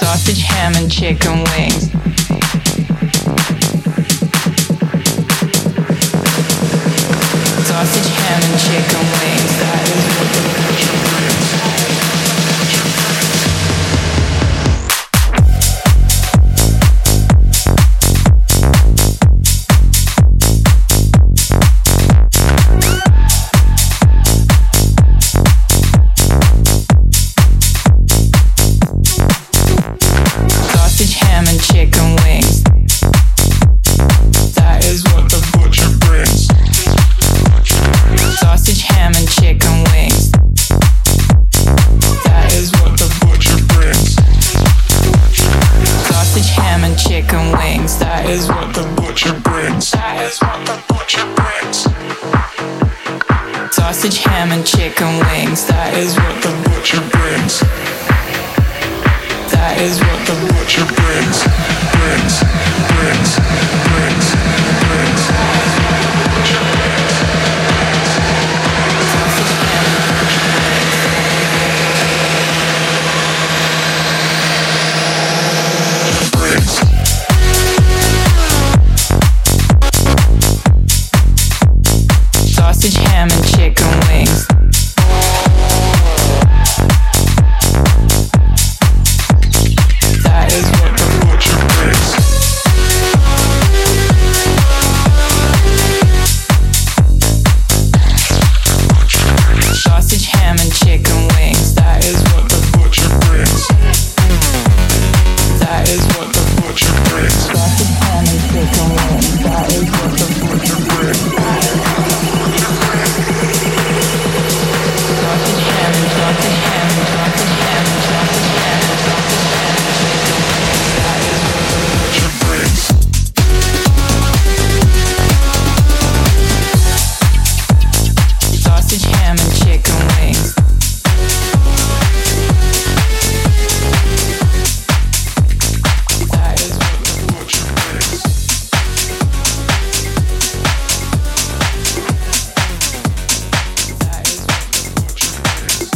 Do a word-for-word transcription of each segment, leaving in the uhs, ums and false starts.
Sausage, ham, and chicken wings. Sausage, ham, and chicken wings. That is what the butcher brings. Sausage, ham, and chicken wings. That is what the butcher brings. Sausage, ham, and chicken wings. That is what the butcher brings. Sausage, ham, and chicken wings. That is what the butcher brings. That is what the butcher brings. Sausage, ham, and chicken wings. That is what the butcher brings. That is what the butcher brings. Brings, brings, brings, brings. Sausage, ham, and chicken wings. That is what the butcher brings. Sausage, ham, and chicken wings. That is what the butcher brings. That is what the butcher brings. Sausage, ham, and chicken wings. That is what the butcher brings. Sausage, ham, and sausage, ham, and sausage, ham, and sausage, ham, and sausage, ham, and chicken wings. That is what the butcher brings. Sausage, ham, and chicken wings. That is what the butcher brings. That is what the butcher brings.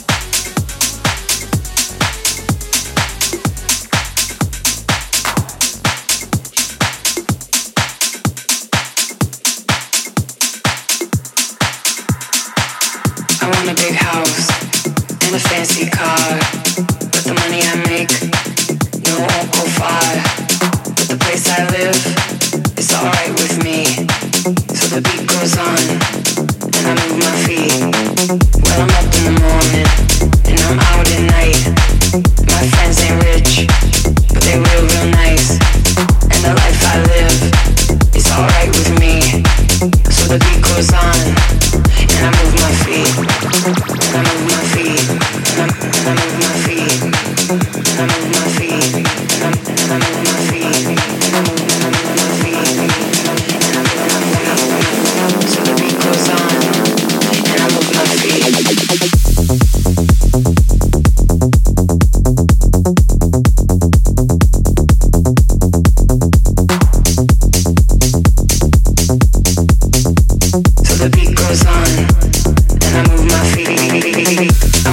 I want a big house and a fancy car. With the money I make, no, it won't go far. But the place I live is alright with me. So the beat goes on and I move my feet. Well, I'm up in the morning and I'm out at night. My friends ain't rich, but they real, real nice. And the life I live is alright with me. So the beat goes on and I move my feet. And I move my feet. And I, and I move my feet. And I move my feet. And I, and I move my feet. And I move, and I move my feet. And I move my feet. So the beat goes on and I move my feet. So the beat goes on and I move my feet. I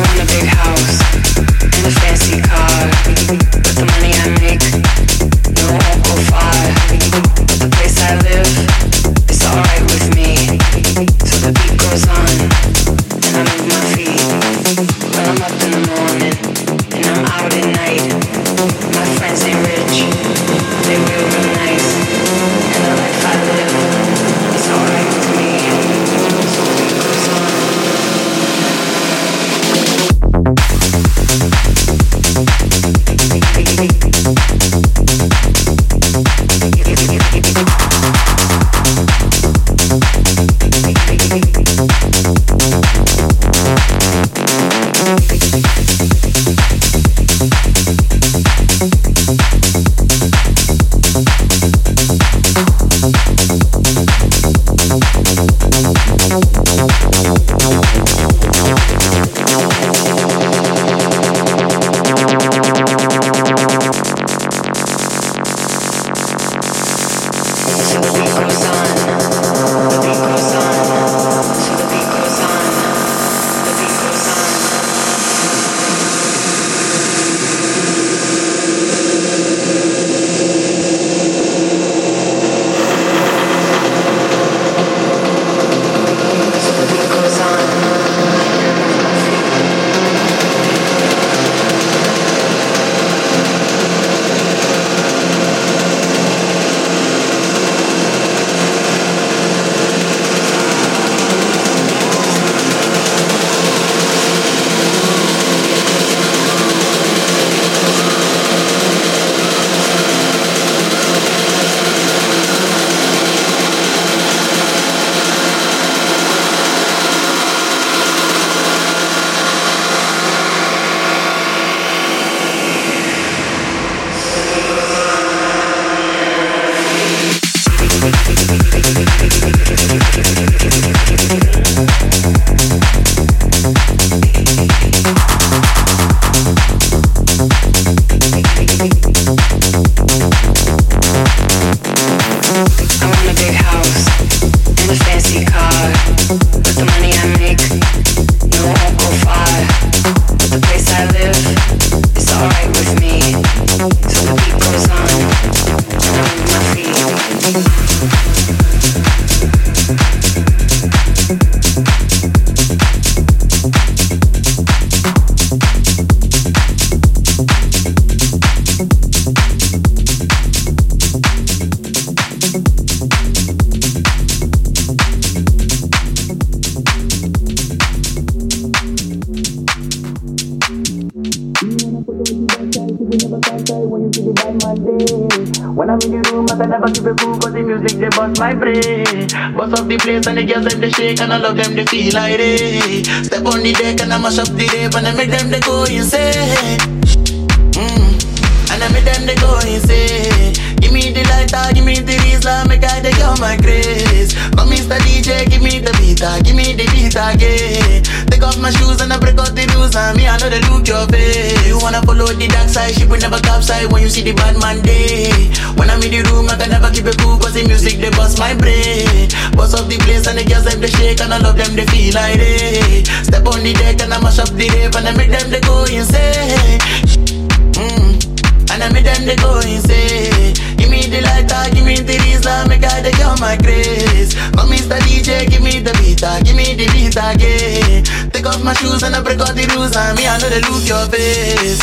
the bad man day. When I'm in the room, I can never keep a cool, cause the music they bust my brain. Bust up the place and the girls them they shake and I love them they feel like it. Step on the deck and I mash up the rave and I make them they go insane. Mm. And I make them they go insane. Give me the lighter, give me the reason, make I take on my grace. Come Mister D J, give me the beat, give me the beat again. Take off my shoes and I break out the rules and me I know they look your face. You wanna follow the dark side, ship will never capsize when you see the bad man day. When I'm in the room, I can never keep it cool, cause the music they bust my brain. Bust up the place and the girls them they shake and I love them they feel like it. Step on the deck and I mash up the rave and I make them they go insane. Mm. And I make them they go insane. Give me the lighter, give me the reason, make I take on my grace. Come Mister D J, give me the beat, give me the beat again. Take off my shoes and I break out the rules and me I know they look your face.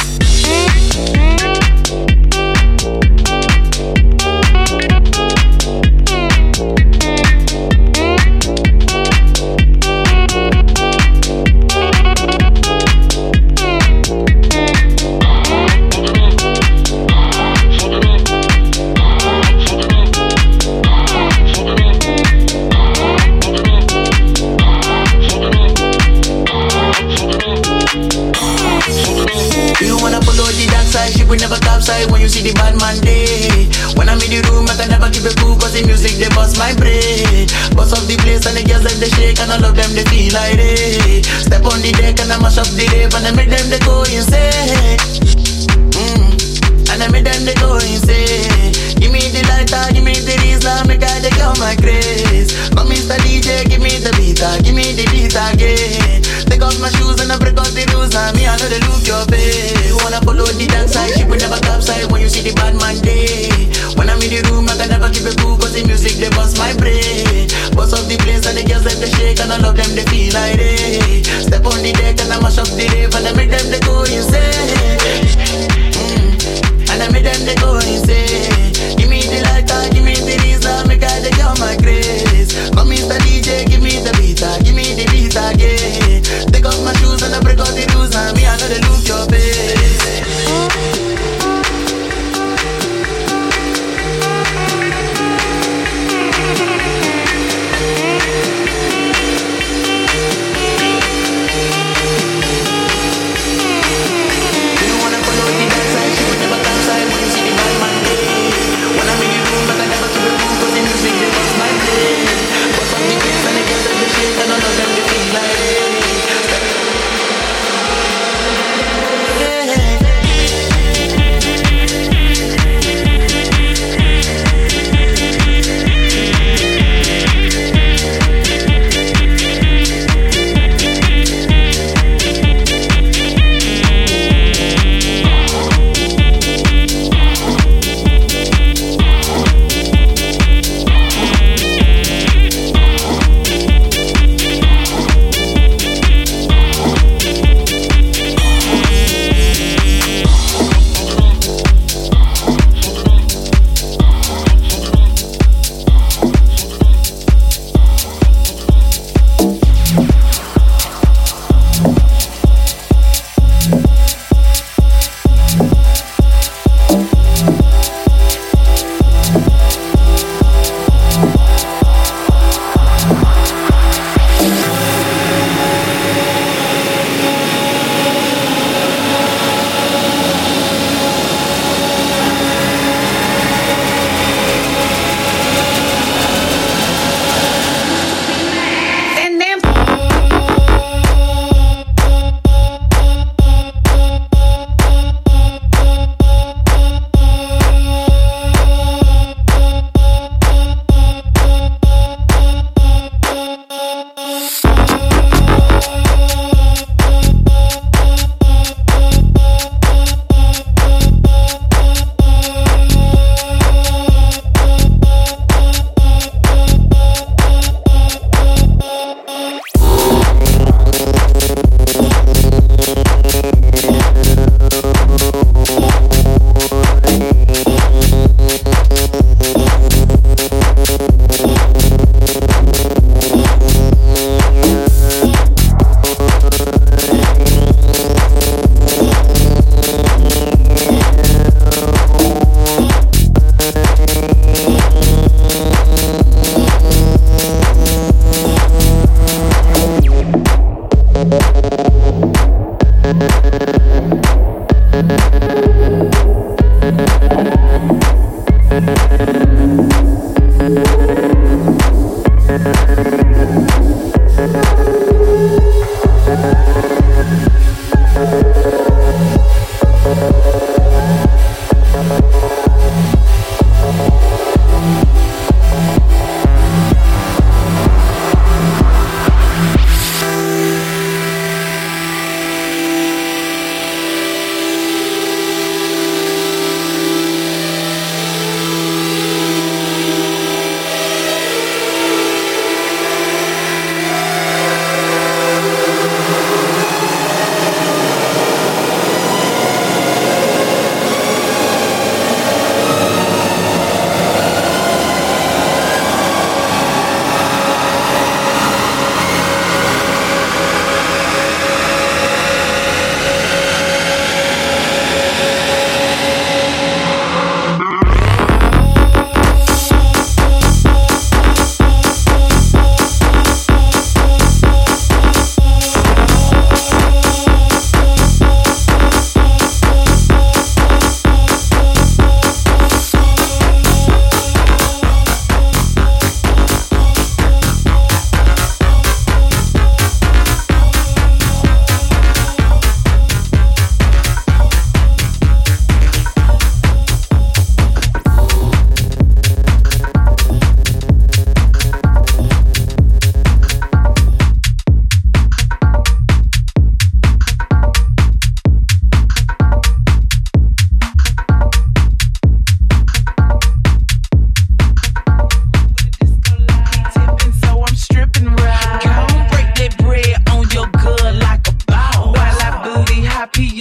We never capsize when you see the bad man day. When I'm in the room, I can never keep it cool, cause the music they bust my brain. Bust up the place and the girls them they shake and all of them they feel like it. Step on the deck and I mash up the rave and I make them they go insane. Mm. And I make them they go insane. Give me the lighter, give me the reason, make I take on my grace. Come Mister D J, give me the beat, give me the beat again. Take off my shoes and I break out the rules and me I know they look your face. You wanna follow the dance side, ship will never capsize when you see the bad man day. When I'm in the room, I can never keep it cool, cause the music they bust my brain. Bust up the place and the girls them they shake and all of them they feel like it. Step on the deck and I mash up the rave and I make them they go insane. Mm. And I make them they go insane. Give me the lighter, give me the reason, make I take on my grace. Come Mister D J, give me the beat, give me the beat again. Take off my shoes and I break out the rules and me I know they look your face.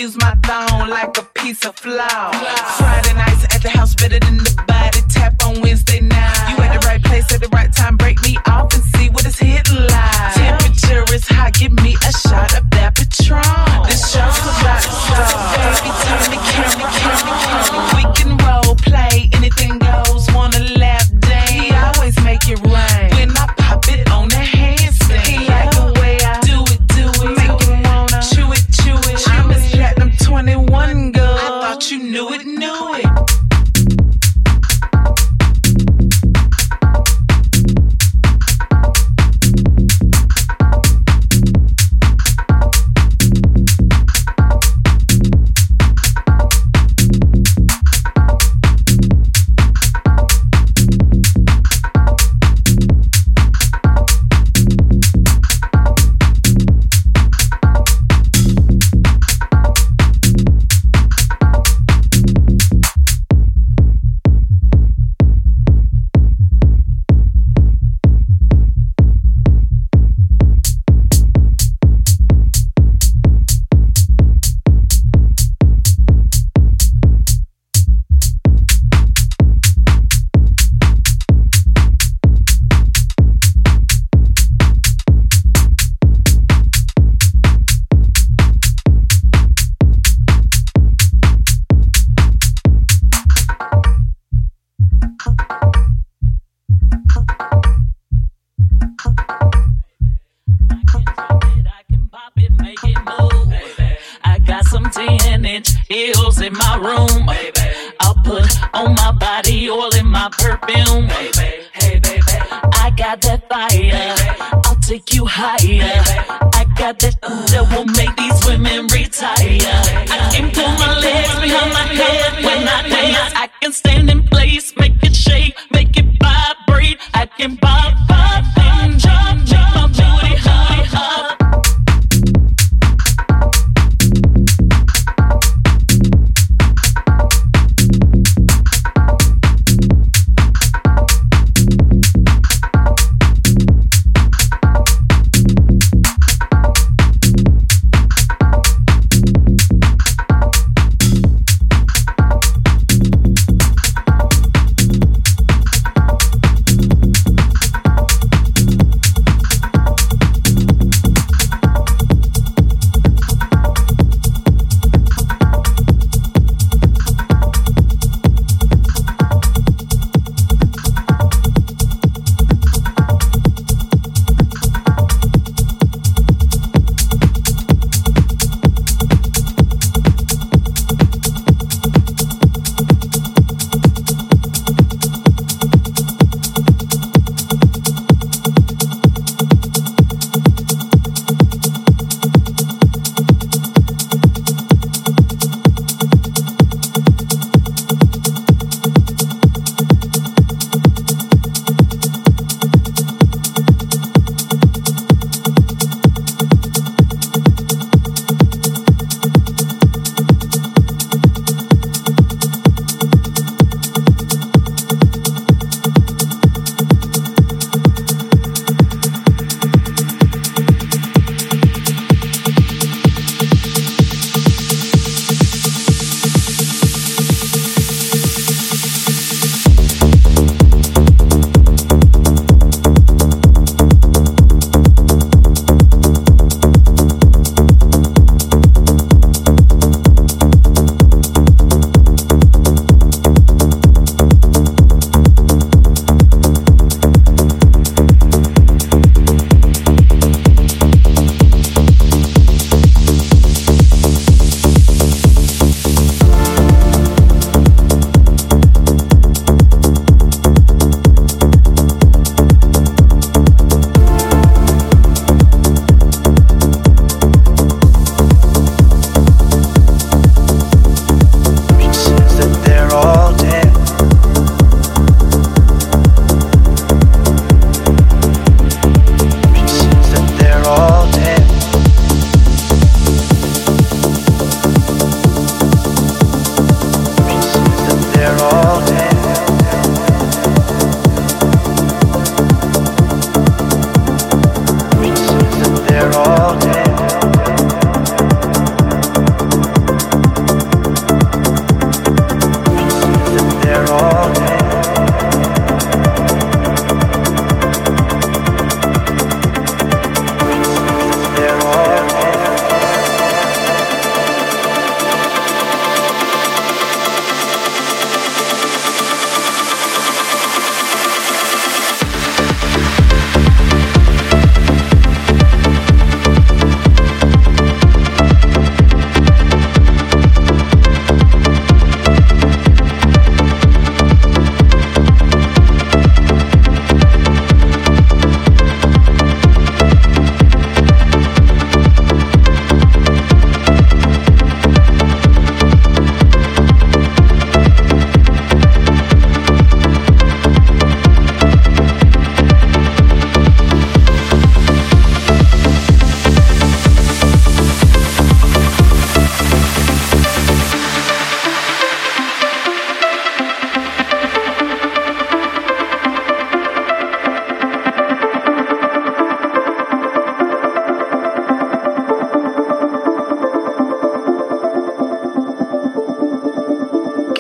use my thong like a piece of flour. Friday nights at the house better than the body. Tap on Wednesday night. You at the right place at the right time. Break me off and see what it's hitting like. Temperature is hot. Give me a shot of that Patron. This show's about to start. Baby, turn the camera, camera, camera. We can role play. Anything goes. Wanna lap dance. He always make it rain. When I pop it on the handstand. He like the way I do it, do it. Make him wanna chew it, chew it. I'm Miss Platinum twenty-one girl. I thought you knew it, knew it. Heels in my room, baby. I'll put on my body oil in my perfume, baby. Hey, baby. I got that fire, baby. I'll take you higher, baby. I got that that will make these women retire. I can pull my legs behind my head when I dance. I can stand in place, make it shake, make it vibrate. I can pop, pop, and jump, jump, my booty high, high.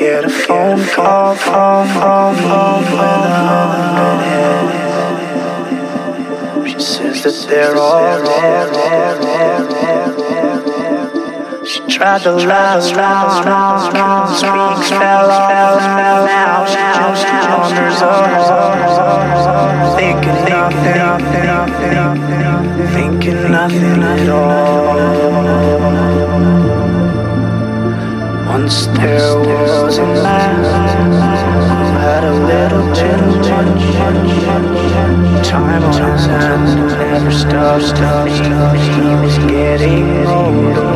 get a phone call from me with a hundred heads. She says that they're all dead. She tried to last round, speaks fell off, now she just wanders off, thinking nothing, thinking nothing at all. Once there was a man who had a little too much time on his hands and never stopped to think that he was getting older.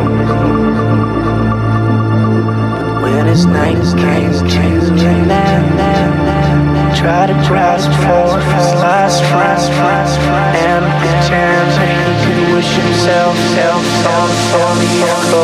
When his night came to an end, try to grasp for his last friend and pretend that he could wish himself on the echo.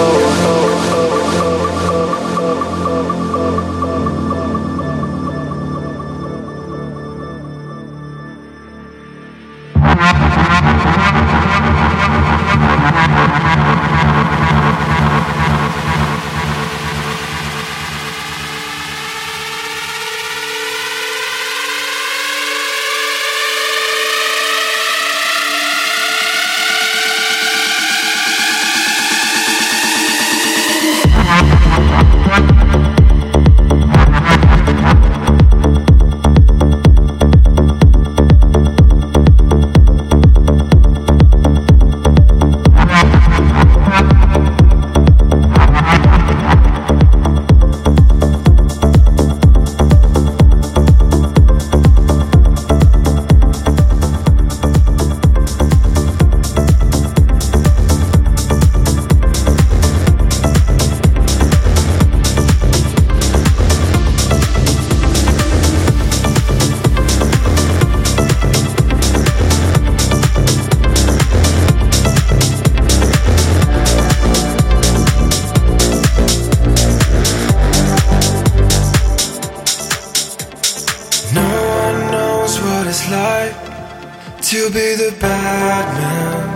To be the bad man,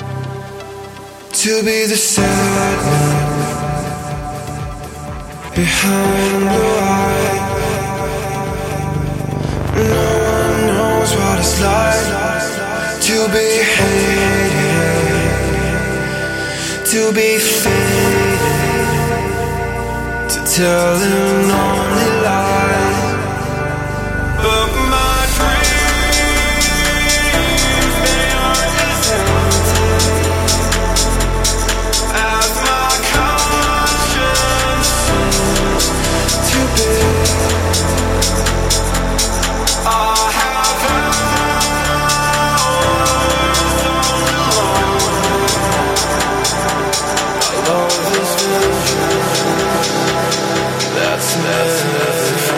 to be the sad man behind the light. No one knows what it's like to be hated, to be faded, to tell an only lie. But my that's nothing.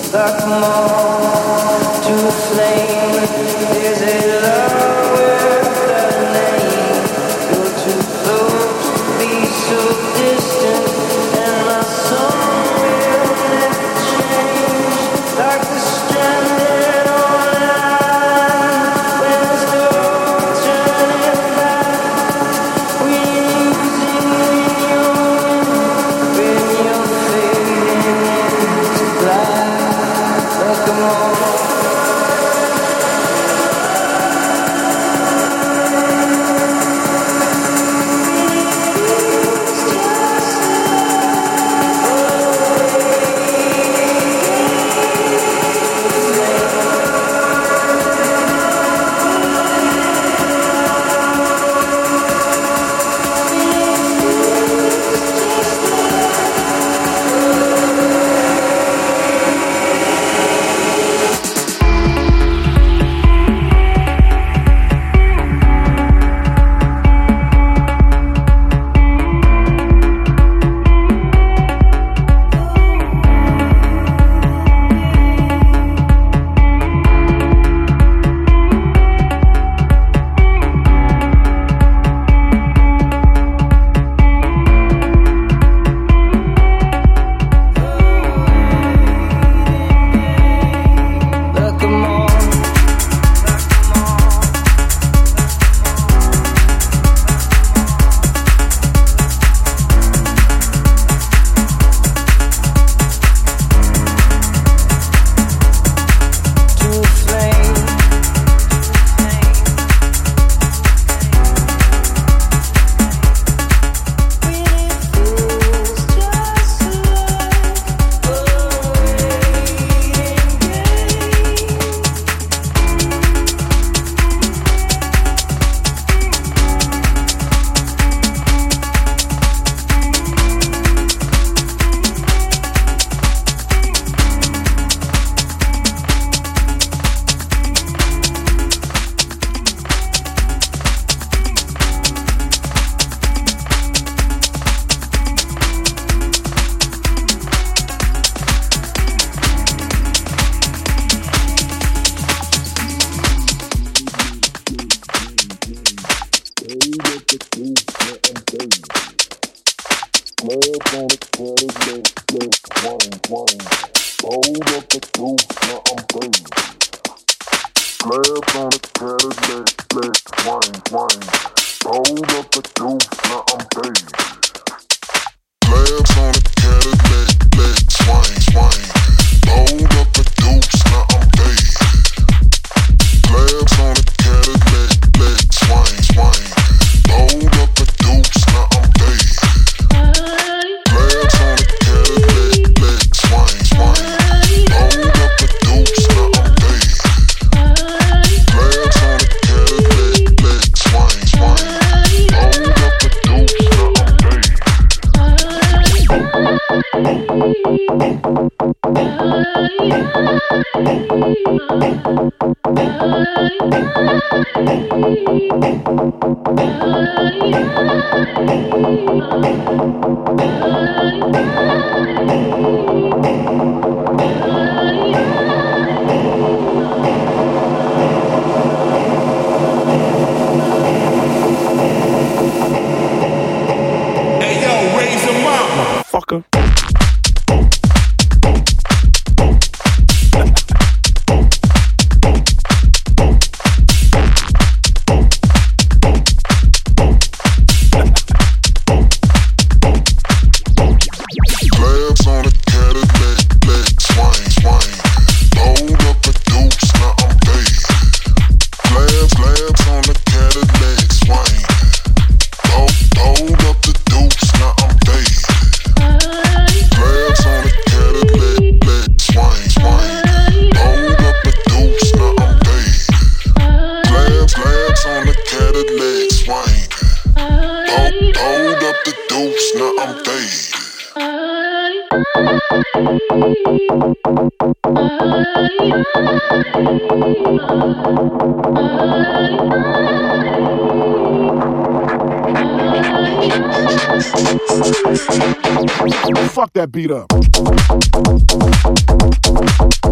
like a moth to a flame. There's a love without a name. You're too close to be so distant, and my song will never change. Like the stranded on land, when there's no turning back. We're losing when you're winning, when you're fading into black. Like a moth. Fuck that beat up.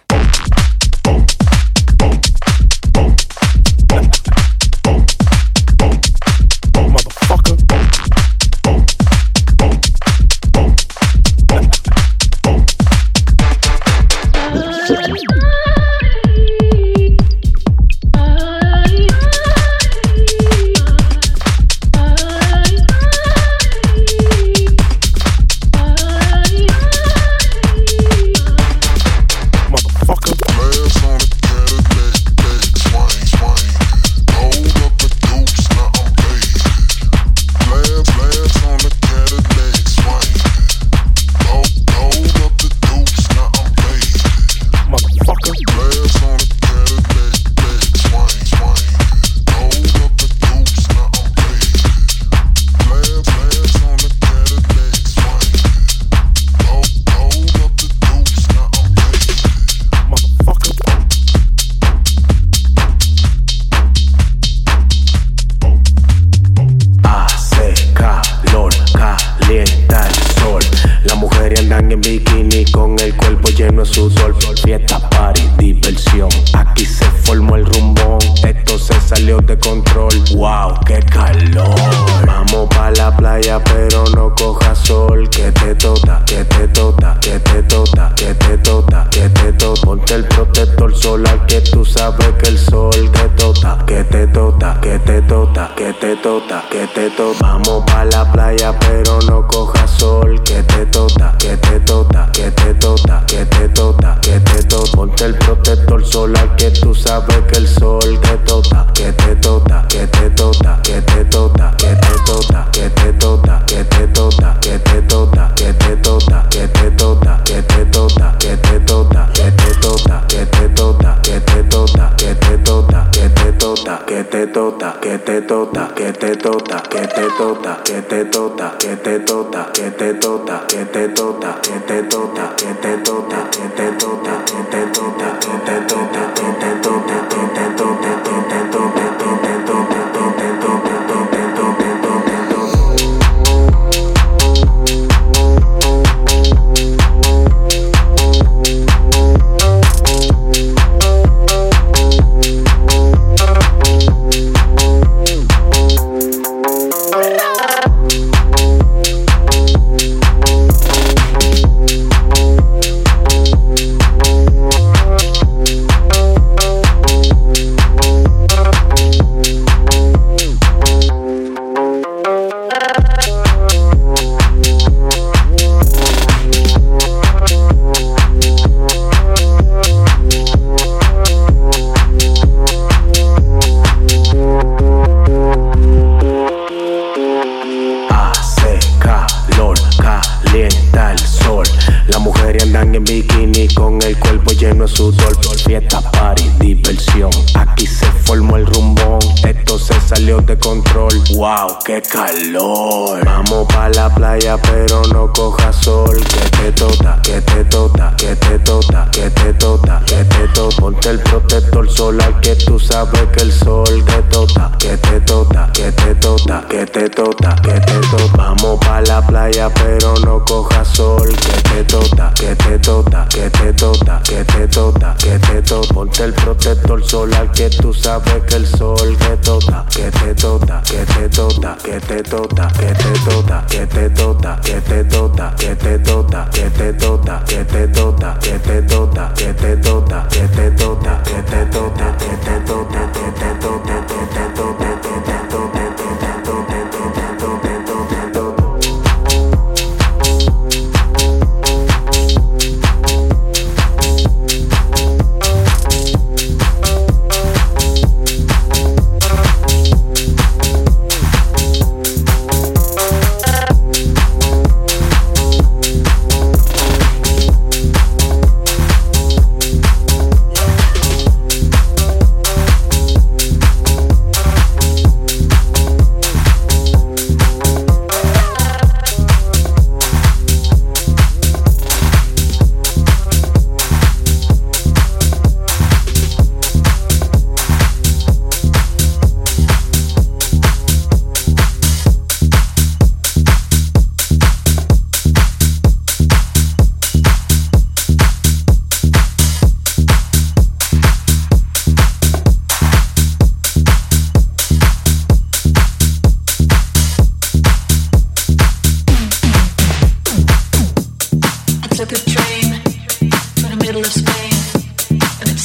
qué calor. Vamos pa' la playa, pero no coja sol. Que te tota, que te tota, que te tota, que te tota, que te tota. Ponte el protector solar que tú sabes que el sol te tota, que te tota, que te tota, que te tota, que te tota. Vamos pa' la playa, pero no coja sol. Que te tota, que te tota, que te tota, que te tota, que te tota. Ponte el protector solar que tú sabes que el sol te tota, que te tota, que te tota, que te tota, que te tota, que te tota, que te tota, que te tota, que te tota, que te tota, que te tota, que te tota, que te tota, que te tota, que te tota, que te tota, que te tota, que te tota.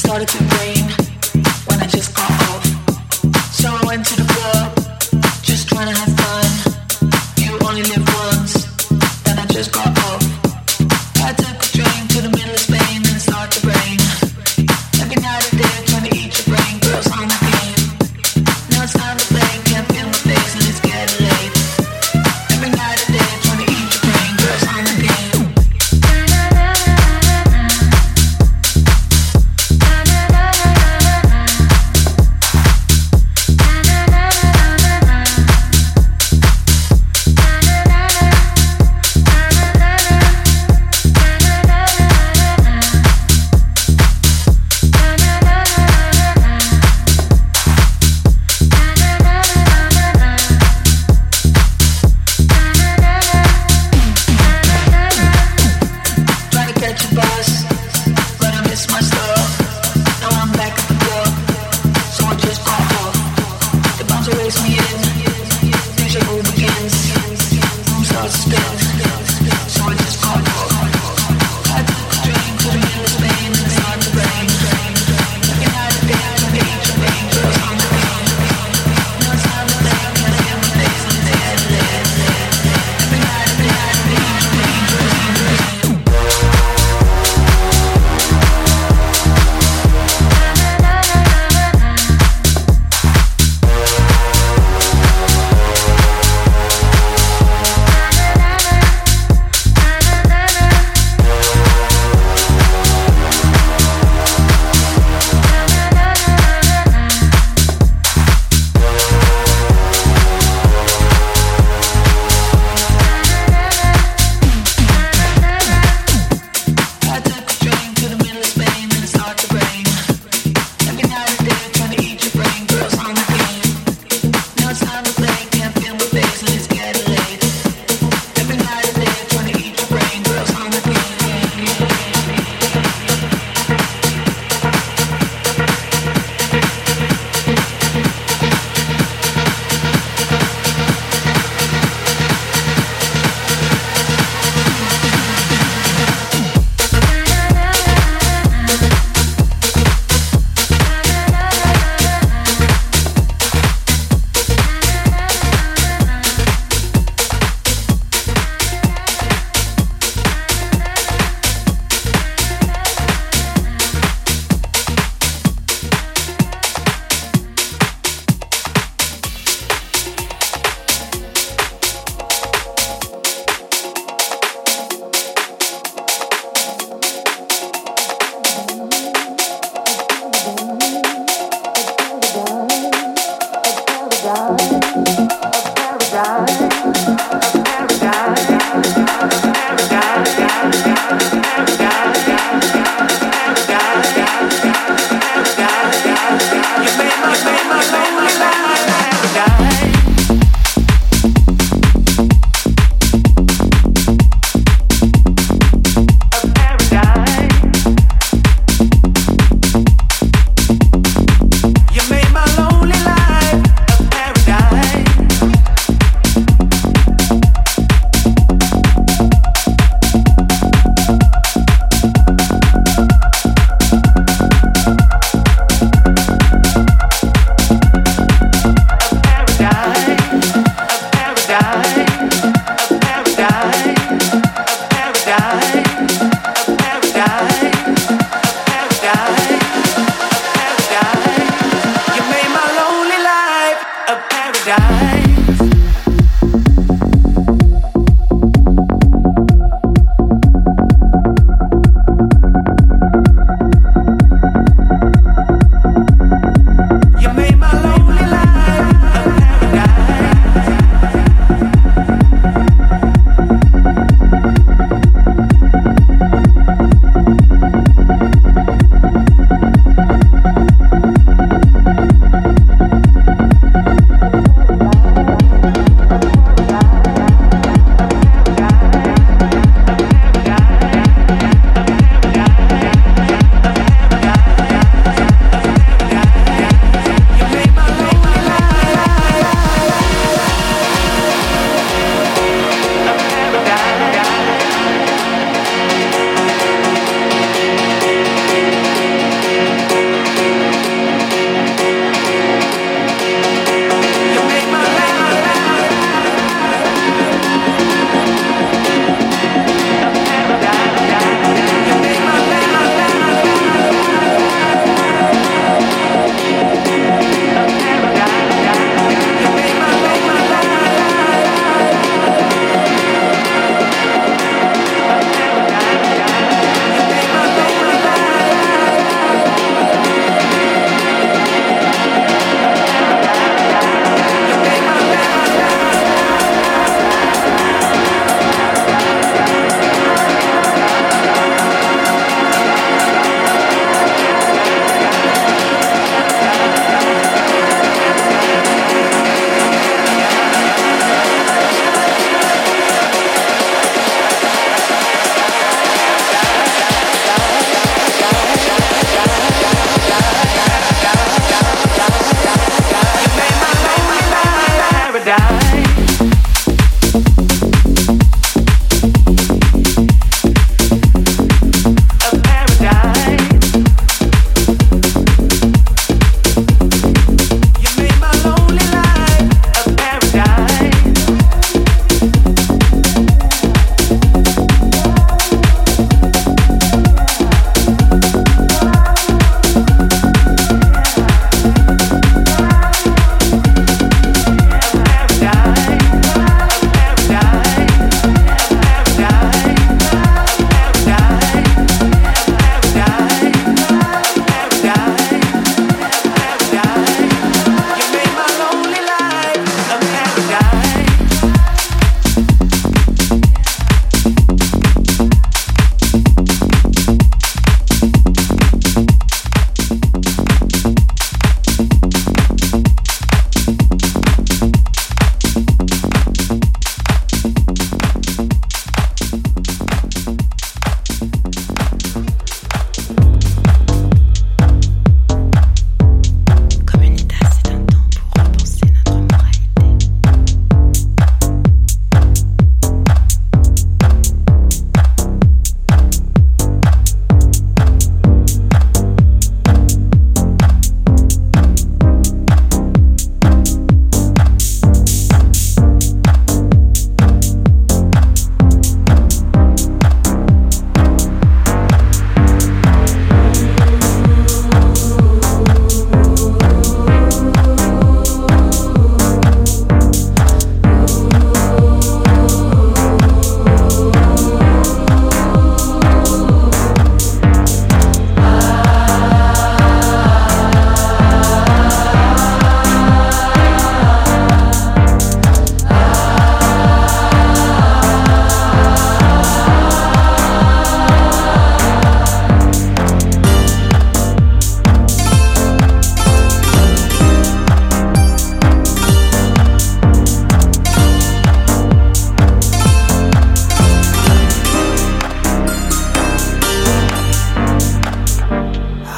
started to rain when I just got off. So I went to the club, just trying to have fun. You only live once, then I just got off. I took a train to the middle of Spain and it started to rain. Every night I did, trying to eat your brain, girls on the game. Now it's time to play, can't feel my face and it's getting late. Every night I did, trying to eat your brain, girls on the game. You made my lonely life a paradise.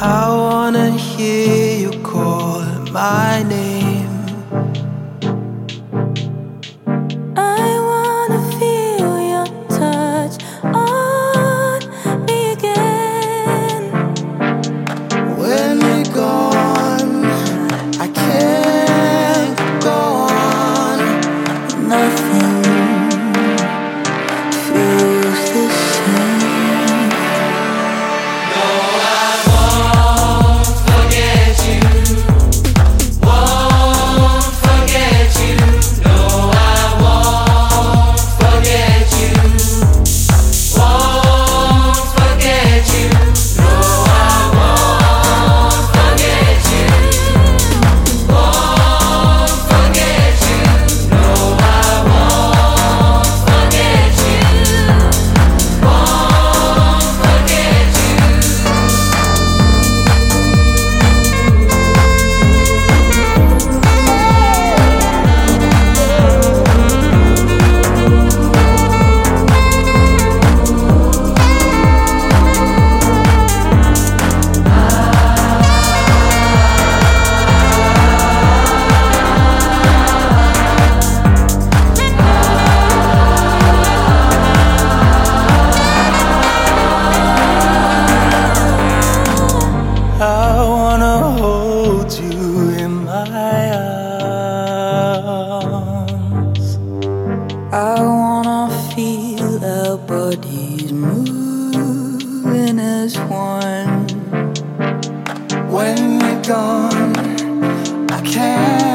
I wanna hear you call my name. I wanna feel your touch on me again. When you're gone, I can't go on. Nothing feels the same. No, I won't forget you. Won't forget you. No, I won't forget you. Won't forget you. No, I won't forget you. Won't forget you. No, I won't forget you. Won't forget you. I wanna hold you in my arms. I wanna feel our bodies moving as one. When you're gone, I can't